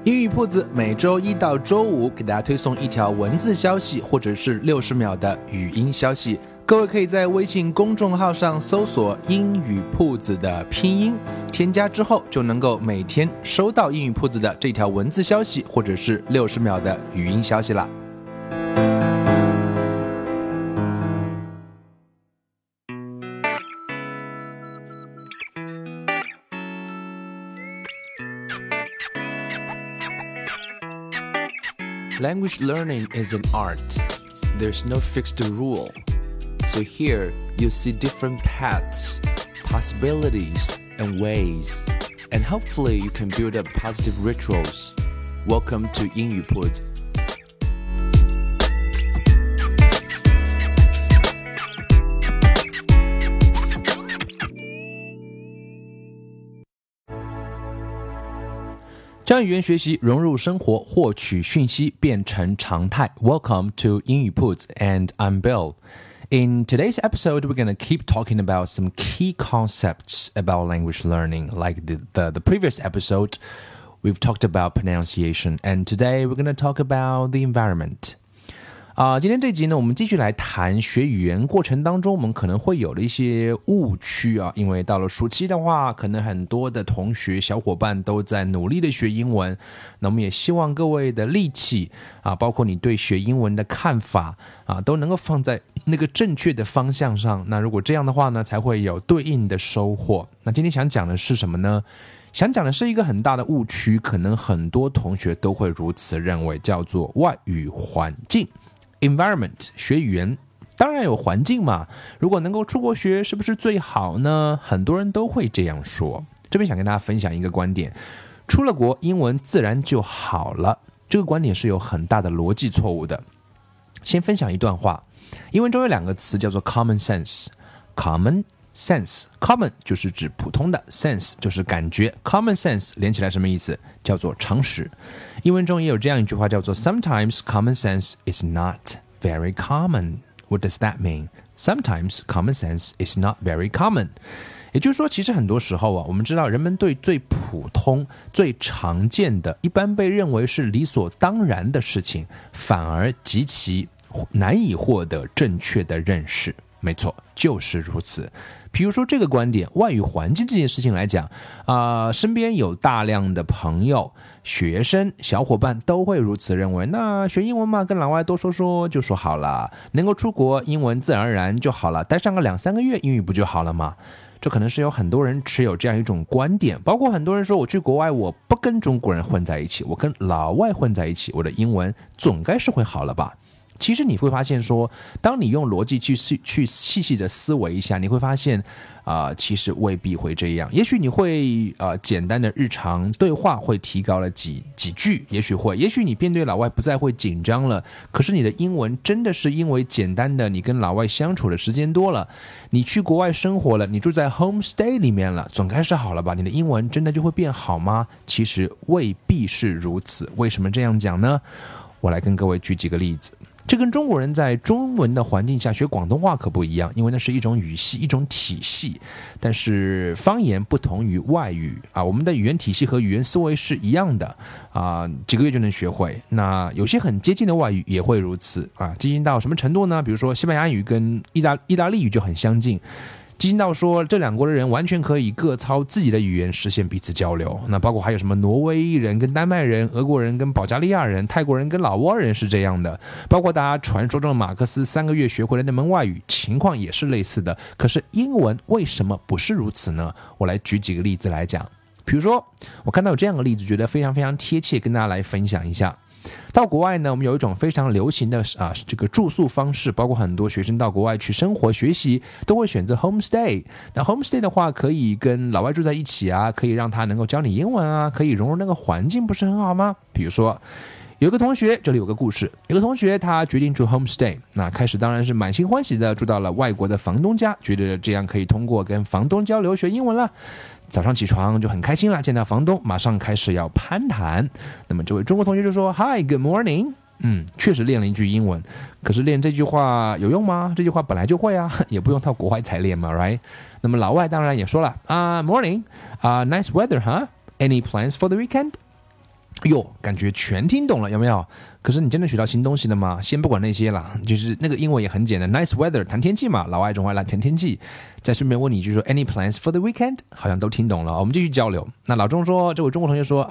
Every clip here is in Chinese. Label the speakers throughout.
Speaker 1: 英语铺子每周一到周五给大家推送一条文字消息或者是60秒的语音消息，各位可以在微信公众号上搜索英语铺子的拼音，添加之后就能够每天收到英语铺子的这条文字消息或者是60秒的语音消息了。Language learning is an art. There's no fixed rule. So here, you'll see different paths, possibilities, and ways. And hopefully you can build up positive rituals. Welcome to 英语铺子。将语言学习融入生活，获取讯息变成常态。Welcome to 英语铺子 and I'm Bill. In today's episode, we're going to keep talking about some key concepts about language learning. Like the previous episode, we've talked about pronunciation, and today we're going to talk about the environment. 今天这集呢，我们继续来谈学语言过程当中我们可能会有的一些误区啊，因为到了暑期的话，可能很多的同学小伙伴都在努力的学英文，那我们也希望各位的力气啊，包括你对学英文的看法啊，都能够放在那个正确的方向上，那如果这样的话呢，才会有对应的收获。那今天想讲的是什么呢？想讲的是一个很大的误区，可能很多同学都会如此认为，叫做外语环境Environment， 学语言当然有环境嘛，如果能够出国学是不是最好呢？很多人都会这样说。这边想跟大家分享一个观点，出了国英文自然就好了，这个观点是有很大的逻辑错误的。先分享一段话，英文中有两个词叫做 common sense。 Common sense， 就是指普通的， sense 就是感觉， common sense 连起来什么意思？叫做常识。英文中也有这样一句话叫做 Sometimes common sense is not very common. What does that mean? Sometimes common sense is not very common. 也就是说，其实很多时候啊，我们知道人们对最普通、最常见的、一般被认为是理所当然的事情，反而极其难以获得正确的认识。没错，就是如此。比如说这个观点，外语环境这件事情来讲身边有大量的朋友、学生、小伙伴都会如此认为，那学英文嘛，跟老外多说说就说好了，能够出国英文自然而然就好了，待上个2-3个月英语不就好了吗？这可能是有很多人持有这样一种观点，包括很多人说我去国外我不跟中国人混在一起，我跟老外混在一起，我的英文总该是会好了吧。其实你会发现说，当你用逻辑去细细的思维一下，你会发现其实未必会这样。也许你会简单的日常对话会提高了几句，也许你面对老外不再会紧张了，可是你的英文真的是因为简单的你跟老外相处的时间多了，你去国外生活了，你住在 homestay 里面了，总该是好了吧？你的英文真的就会变好吗？其实未必是如此。为什么这样讲呢？我来跟各位举几个例子。这跟中国人在中文的环境下学广东话可不一样，因为那是一种语系，一种体系。但是方言不同于外语我们的语言体系和语言思维是一样的几个月就能学会。那有些很接近的外语也会如此接近到什么程度呢？比如说西班牙语跟意大利语就很相近。接近到说这两国的人完全可以各操自己的语言实现彼此交流，那包括还有什么挪威人跟丹麦人、俄国人跟保加利亚人、泰国人跟老挝人是这样的，包括大家传说中的马克思3个月学会了那门外语，情况也是类似的。可是英文为什么不是如此呢？我来举几个例子来讲。比如说我看到有这样的例子，觉得非常非常贴切，跟大家来分享一下。到国外呢，我们有一种非常流行的这个住宿方式，包括很多学生到国外去生活学习都会选择 homestay。 那 homestay 的话可以跟老外住在一起可以让他能够教你英文可以融入那个环境，不是很好吗？比如说有个同学，这里有个故事，有个同学他决定住 homestay， 那开始当然是满心欢喜的住到了外国的房东家，觉得这样可以通过跟房东交流学英文了。早上起床就很开心了，见到房东马上开始要攀谈。那么这位中国同学就说 Hi, good morning。 确实练了一句英文，可是练这句话有用吗？这句话本来就会也不用到国外才练嘛 right？ 那么老外当然也说了Morning, nice weather, huh? Any plans for the weekend？ 哟，感觉全听懂了，有没有？可是你真的学到新东西了吗？先不管那些啦，就是那个英文也很简单 ，nice weather 谈天气嘛，老外中爱来谈天气。再顺便问你一句说 ，any plans for the weekend？ 好像都听懂了，我们继续交流。那老钟说，这位中国同学说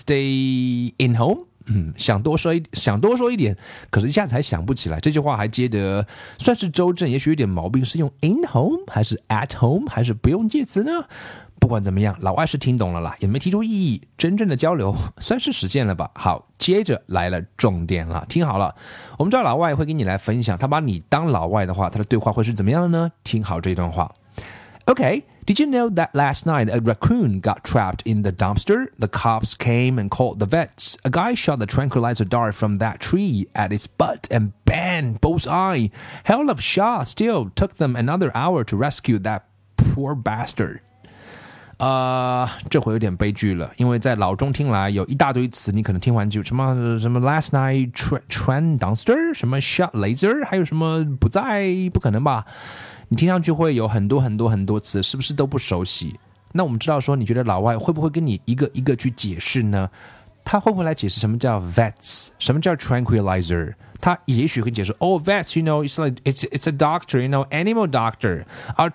Speaker 1: stay in home。想多说一点，可是一下子还想不起来。这句话还接得算是周正，也许有点毛病，是用 in home 还是 at home 还是不用介词呢？不管怎么样，老外是听懂了啦，也没提出异议，真正的交流算是实现了吧。好，接着来了重点了，听好了，我们知道老外会跟你来分享，他把你当老外的话，他的对话会是怎么样的呢？听好这段话。Okay, did you know that last night a raccoon got trapped in the dumpster? The cops came and called the vets. A guy shot the tranquilizer dart from that tree at its butt and bang, bullseye. Hell of a shot still. Took them another hour to rescue that poor bastard. 这回有点悲剧了，因为在老中听来有一大堆词，你可能听完就什么 last night train dumpster， 什么 shot laser， 还有什么不在，不可能吧？你听上去会有很多词，是不是都不熟悉？那我们知道说，你觉得老外会不会跟你一个一个去解释呢？他会不会来解释什么叫 vets， 什么叫 tranquilizer？ 他也许会解释vets, you know, it's a doctor, you know, animal doctor.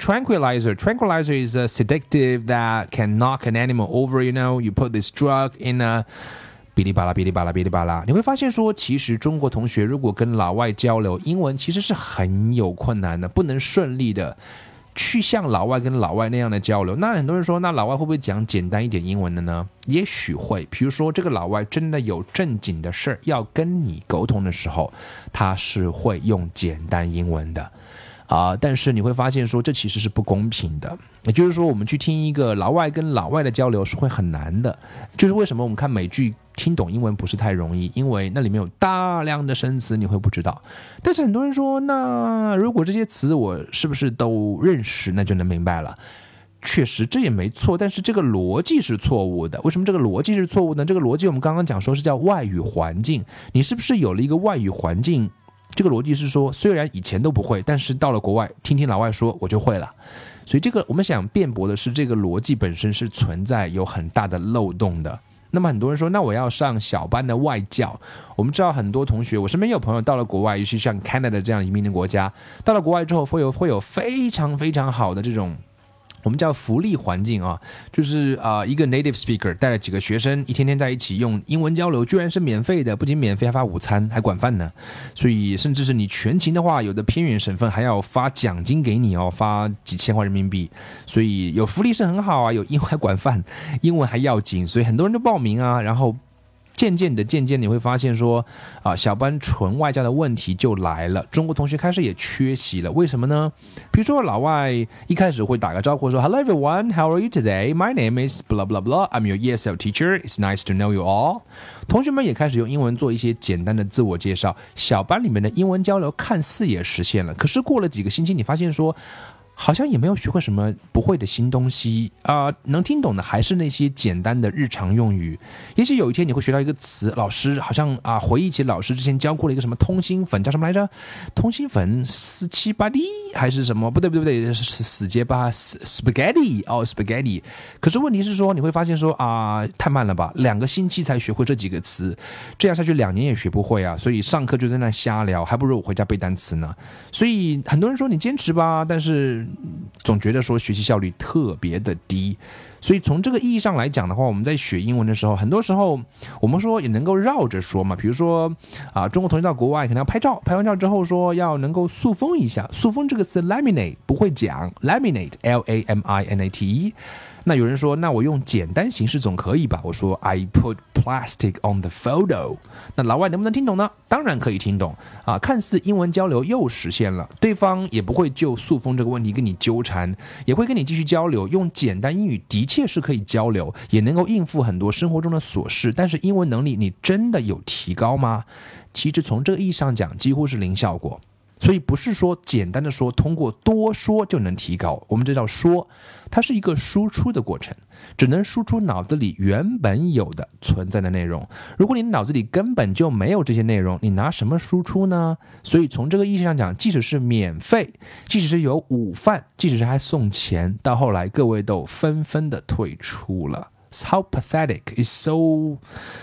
Speaker 1: Tranquilizer is a sedative that can knock an animal over, you know, you put this drug in a哔哩吧啦，你会发现说，其实中国同学如果跟老外交流英文，其实是很有困难的，不能顺利的去像老外跟老外那样的交流。那很多人说，那老外会不会讲简单一点英文的呢？也许会，比如说这个老外真的有正经的事要跟你沟通的时候，他是会用简单英文的。但是你会发现说，这其实是不公平的。也就是说，我们去听一个老外跟老外的交流是会很难的。就是为什么我们看美剧听懂英文不是太容易，因为那里面有大量的生词，你会不知道。但是很多人说，那如果这些词我是不是都认识，那就能明白了。确实这也没错，但是这个逻辑是错误的。为什么这个逻辑是错误呢？这个逻辑我们刚刚讲说是叫外语环境，你是不是有了一个外语环境？这个逻辑是说，虽然以前都不会，但是到了国外听听老外说，我就会了。所以这个我们想辩驳的是，这个逻辑本身是存在有很大的漏洞的。那么很多人说，那我要上小班的外教。我们知道很多同学，我身边有朋友到了国外，尤其像 Canada 这样移民的国家，到了国外之后会有非常非常好的这种我们叫福利环境啊，就是一个 native speaker 带了几个学生，一天天在一起用英文交流，居然是免费的，不仅免费还发午餐，还管饭呢。所以甚至是你全勤的话，有的偏远省份还要发奖金给你哦，发几千块人民币。所以有福利是很好啊，有英文还管饭，英文还要紧，所以很多人都报名啊，然后渐渐你会发现说小班纯外教的问题就来了，中国同学开始也缺席了。为什么呢？比如说老外一开始会打个招呼说 Hello everyone, how are you today? My name is blah blah blah. I'm your ESL teacher. It's nice to know you all. 同学们也开始用英文做一些简单的自我介绍，小班里面的英文交流看似也实现了。可是过了几个星期，你发现说好像也没有学会什么不会的新东西能听懂的还是那些简单的日常用语。也许有一天你会学到一个词，老师好像回忆起老师之前教过了一个什么通心粉，叫什么来着？通心粉478D还是什么？不对，死结巴 spaghetti spaghetti。可是问题是说，你会发现说太慢了吧，2个星期才学会这几个词，这样下去2年也学不会啊。所以上课就在那瞎聊，还不如我回家背单词呢。所以很多人说你坚持吧，但是总觉得说学习效率特别的低。所以从这个意义上来讲的话，我们在学英文的时候，很多时候我们说也能够绕着说嘛。比如说中国同学到国外可能要拍照，拍完照之后说要能够塑封一下。塑封这个词 laminate 不会讲 laminate L-A-M-I-N-A-T-E。那有人说，那我用简单形式总可以吧？我说 I put plastic on the photo。 那老外能不能听懂呢？当然可以听懂看似英文交流又实现了，对方也不会就塑封这个问题跟你纠缠，也会跟你继续交流。用简单英语的确是可以交流，也能够应付很多生活中的琐事，但是英文能力你真的有提高吗？其实从这个意义上讲，几乎是零效果。所以不是说简单的说通过多说就能提高，我们这叫说，它是一个输出的过程，只能输出脑子里原本有的存在的内容。如果你脑子里根本就没有这些内容，你拿什么输出呢？所以从这个意义上讲，即使是免费，即使是有午饭，即使是还送钱，到后来各位都纷纷的退出了。How pathetic is so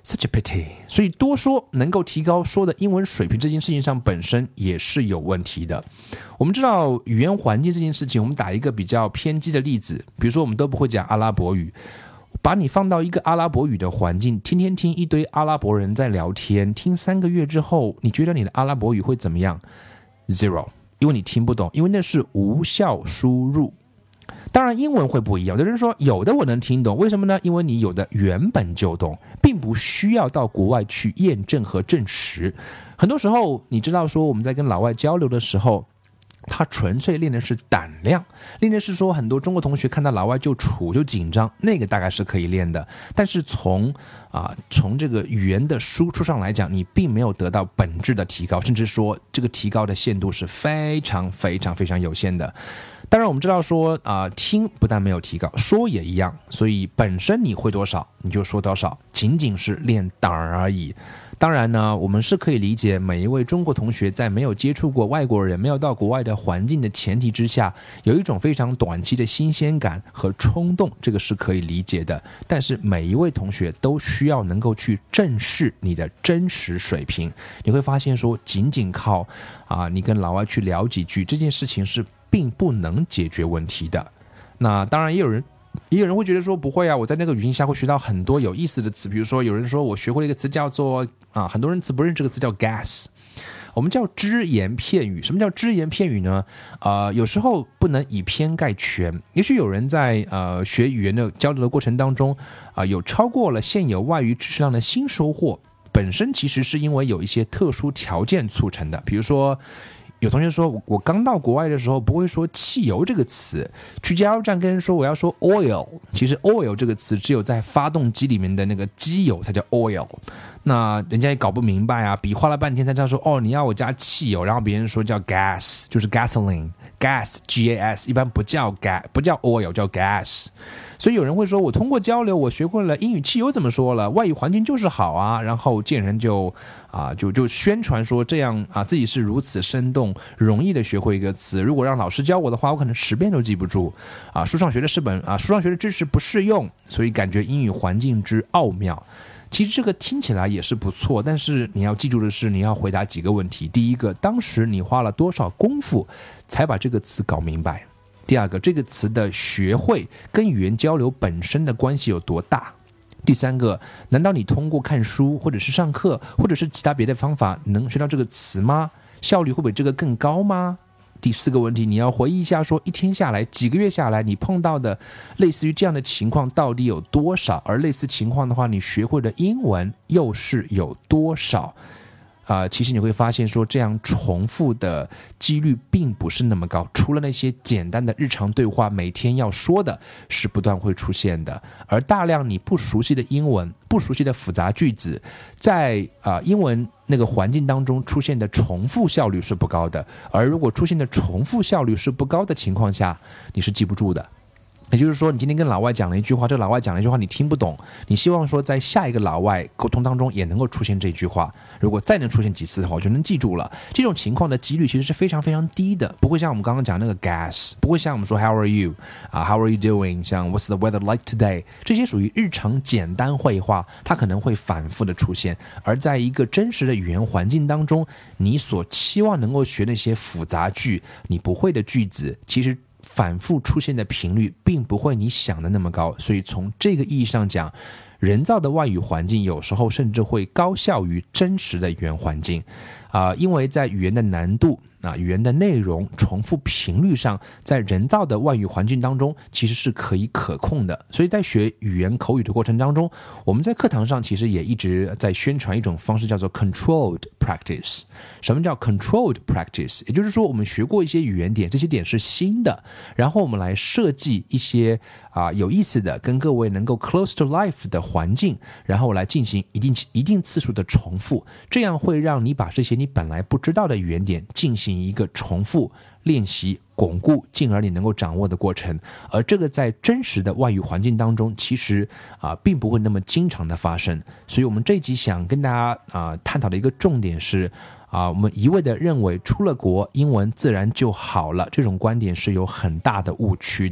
Speaker 1: Such a pity. 所以多说能够提高说的英文水平这件事情上本身也是有问题的。我们知道语言环境这件事情，我们打一个比较偏激的例子，比如说我们都不会讲阿拉伯语，把你放到一个阿拉伯语的环境，天天听一堆阿拉伯人在聊天，听3个月之后，你觉得你的阿拉伯语会怎么样？ Zero， 因为你听不懂，因为那是无效输入。当然英文会不一样，有的人说有的我能听懂，为什么呢？因为你有的原本就懂，并不需要到国外去验证和证实。很多时候你知道说我们在跟老外交流的时候，他纯粹练的是胆量，练的是说很多中国同学看到老外就怵就紧张，那个大概是可以练的，但是从这个语言的输出上来讲，你并没有得到本质的提高，甚至说这个提高的限度是非常非常非常有限的。当然我们知道说听不但没有提高，说也一样，所以本身你会多少你就说多少，仅仅是练胆而已。当然呢，我们是可以理解每一位中国同学在没有接触过外国人，没有到国外的环境的前提之下，有一种非常短期的新鲜感和冲动，这个是可以理解的。但是每一位同学都需要能够去正视你的真实水平。你会发现说仅仅靠你跟老外去聊几句，这件事情是并不能解决问题的。那当然也有人会觉得说不会啊，我在那个语境下会学到很多有意思的词，比如说有人说我学会了一个词叫做很多人不认识这个词叫 gas， 我们叫只言片语。什么叫只言片语呢？有时候不能以偏概全，也许有人在学语言的交流的过程当中有超过了现有外语知识量的新收获，本身其实是因为有一些特殊条件促成的。比如说有同学说我刚到国外的时候不会说汽油这个词，去加油站跟人说我要说 oil， 其实 oil 这个词只有在发动机里面的那个机油才叫 oil， 那人家也搞不明白比划了半天才知道说你要我加汽油，然后别人说叫 gas， 就是 gasoline， gas gas 一般不叫 oil， 叫 gas。所以有人会说我通过交流我学会了英语汽油怎么说了，外语环境就是好然后见人就宣传说这样自己是如此生动容易的学会一个词，如果让老师教我的话，我可能10遍都记不住书上学的知识不适用，所以感觉英语环境之奥妙。其实这个听起来也是不错，但是你要记住的是你要回答几个问题。第一个，当时你花了多少功夫才把这个词搞明白？第二个，这个词的学会跟语言交流本身的关系有多大？第三个，难道你通过看书或者是上课或者是其他别的方法能学到这个词吗？效率会比这个更高吗？第四个问题，你要回忆一下说一天下来几个月下来你碰到的类似于这样的情况到底有多少，而类似情况的话你学会的英文又是有多少？其实你会发现说这样重复的几率并不是那么高，除了那些简单的日常对话每天要说的是不断会出现的，而大量你不熟悉的英文，不熟悉的复杂句子，在英文那个环境当中出现的重复效率是不高的，而如果出现的重复效率是不高的情况下，你是记不住的。也就是说你今天跟老外讲了一句话，这个老外讲了一句话你听不懂，你希望说在下一个老外沟通当中也能够出现这句话，如果再能出现几次的话我就能记住了。这种情况的几率其实是非常非常低的，不会像我们刚刚讲那个 gas， 不会像我们说 how are you how are you doing， 像 what's the weather like today， 这些属于日常简单会话，它可能会反复的出现，而在一个真实的语言环境当中，你所期望能够学那些复杂句，你不会的句子，其实反复出现的频率并不会你想的那么高。所以从这个意义上讲，人造的外语环境有时候甚至会高效于真实的语言环境因为在语言的难度语言的内容重复频率上，在人造的外语环境当中其实是可以可控的。所以在学语言口语的过程当中，我们在课堂上其实也一直在宣传一种方式叫做 controlled practice。 什么叫 controlled practice？ 也就是说我们学过一些语言点，这些点是新的，然后我们来设计一些有意思的跟各位能够 close to life 的环境，然后来进行一定次数的重复，这样会让你把这些你本来不知道的语言点进行一个重复练习巩固，进而你能够掌握的过程。而这个在真实的外语环境当中其实并不会那么经常的发生。所以我们这一集想跟大家探讨的一个重点是我们一味的认为出了国英文自然就好了，这种观点是有很大的误区的。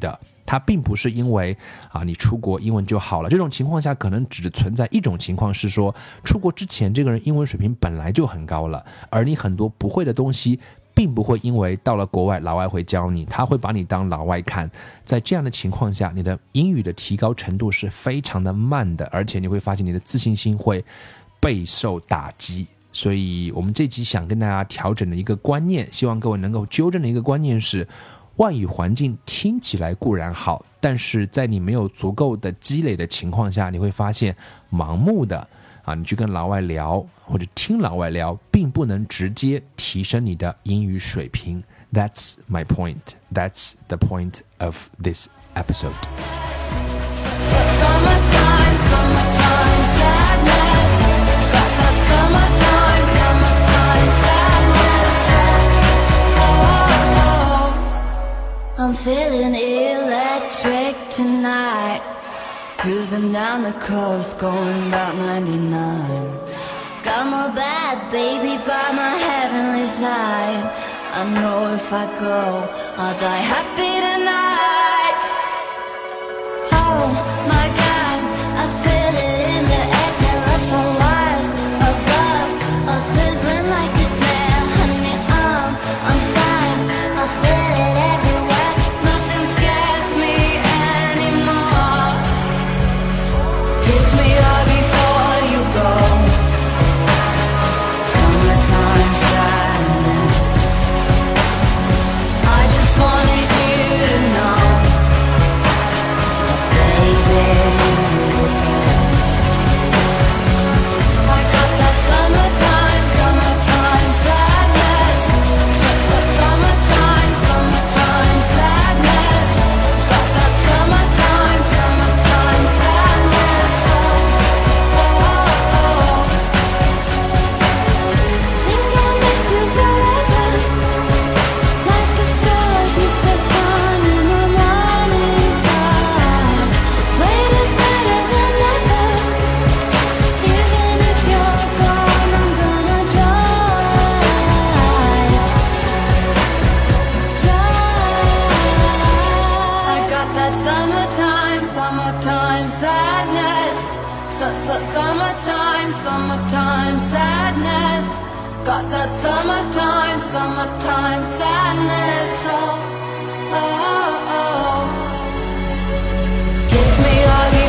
Speaker 1: 它并不是因为你出国英文就好了。这种情况下可能只存在一种情况，是说出国之前这个人英文水平本来就很高了，而你很多不会的东西并不会因为到了国外老外会教你，他会把你当老外看。在这样的情况下，你的英语的提高程度是非常的慢的，而且你会发现你的自信心会备受打击。所以我们这集想跟大家调整的一个观念，希望各位能够纠正的一个观念是，外语环境听起来固然好，但是在你没有足够的积累的情况下，你会发现盲目的你去跟老外聊或者听老外聊，并不能直接提升你的英语水平。 That's my point. That's the point of this episode.
Speaker 2: I'm feeling electric tonight, cruising down the coast, going about 99. Got my bad baby by my heavenly side. I know if I go, I'll die happy tonight. Oh my God, I feel it in the air, 10 left for wires above, all sizzling like a snare. Honey, I'm fine, I feel it everywhere. Nothing scares me anymore. Kiss me hard before you go. Summertime sadness. I just wanted you to know that, baby, I got that summertime sadness. Summertime sadness. Got that summertime sadness. Think I'll miss you forever, like the stars miss the sun in the morning sky. Wait is better than never. Even if you're gone, I'm gonna try. I got that summertime sadness. Summertime sadness. Got that summertime sadness. Oh, oh, oh. Kiss me hard.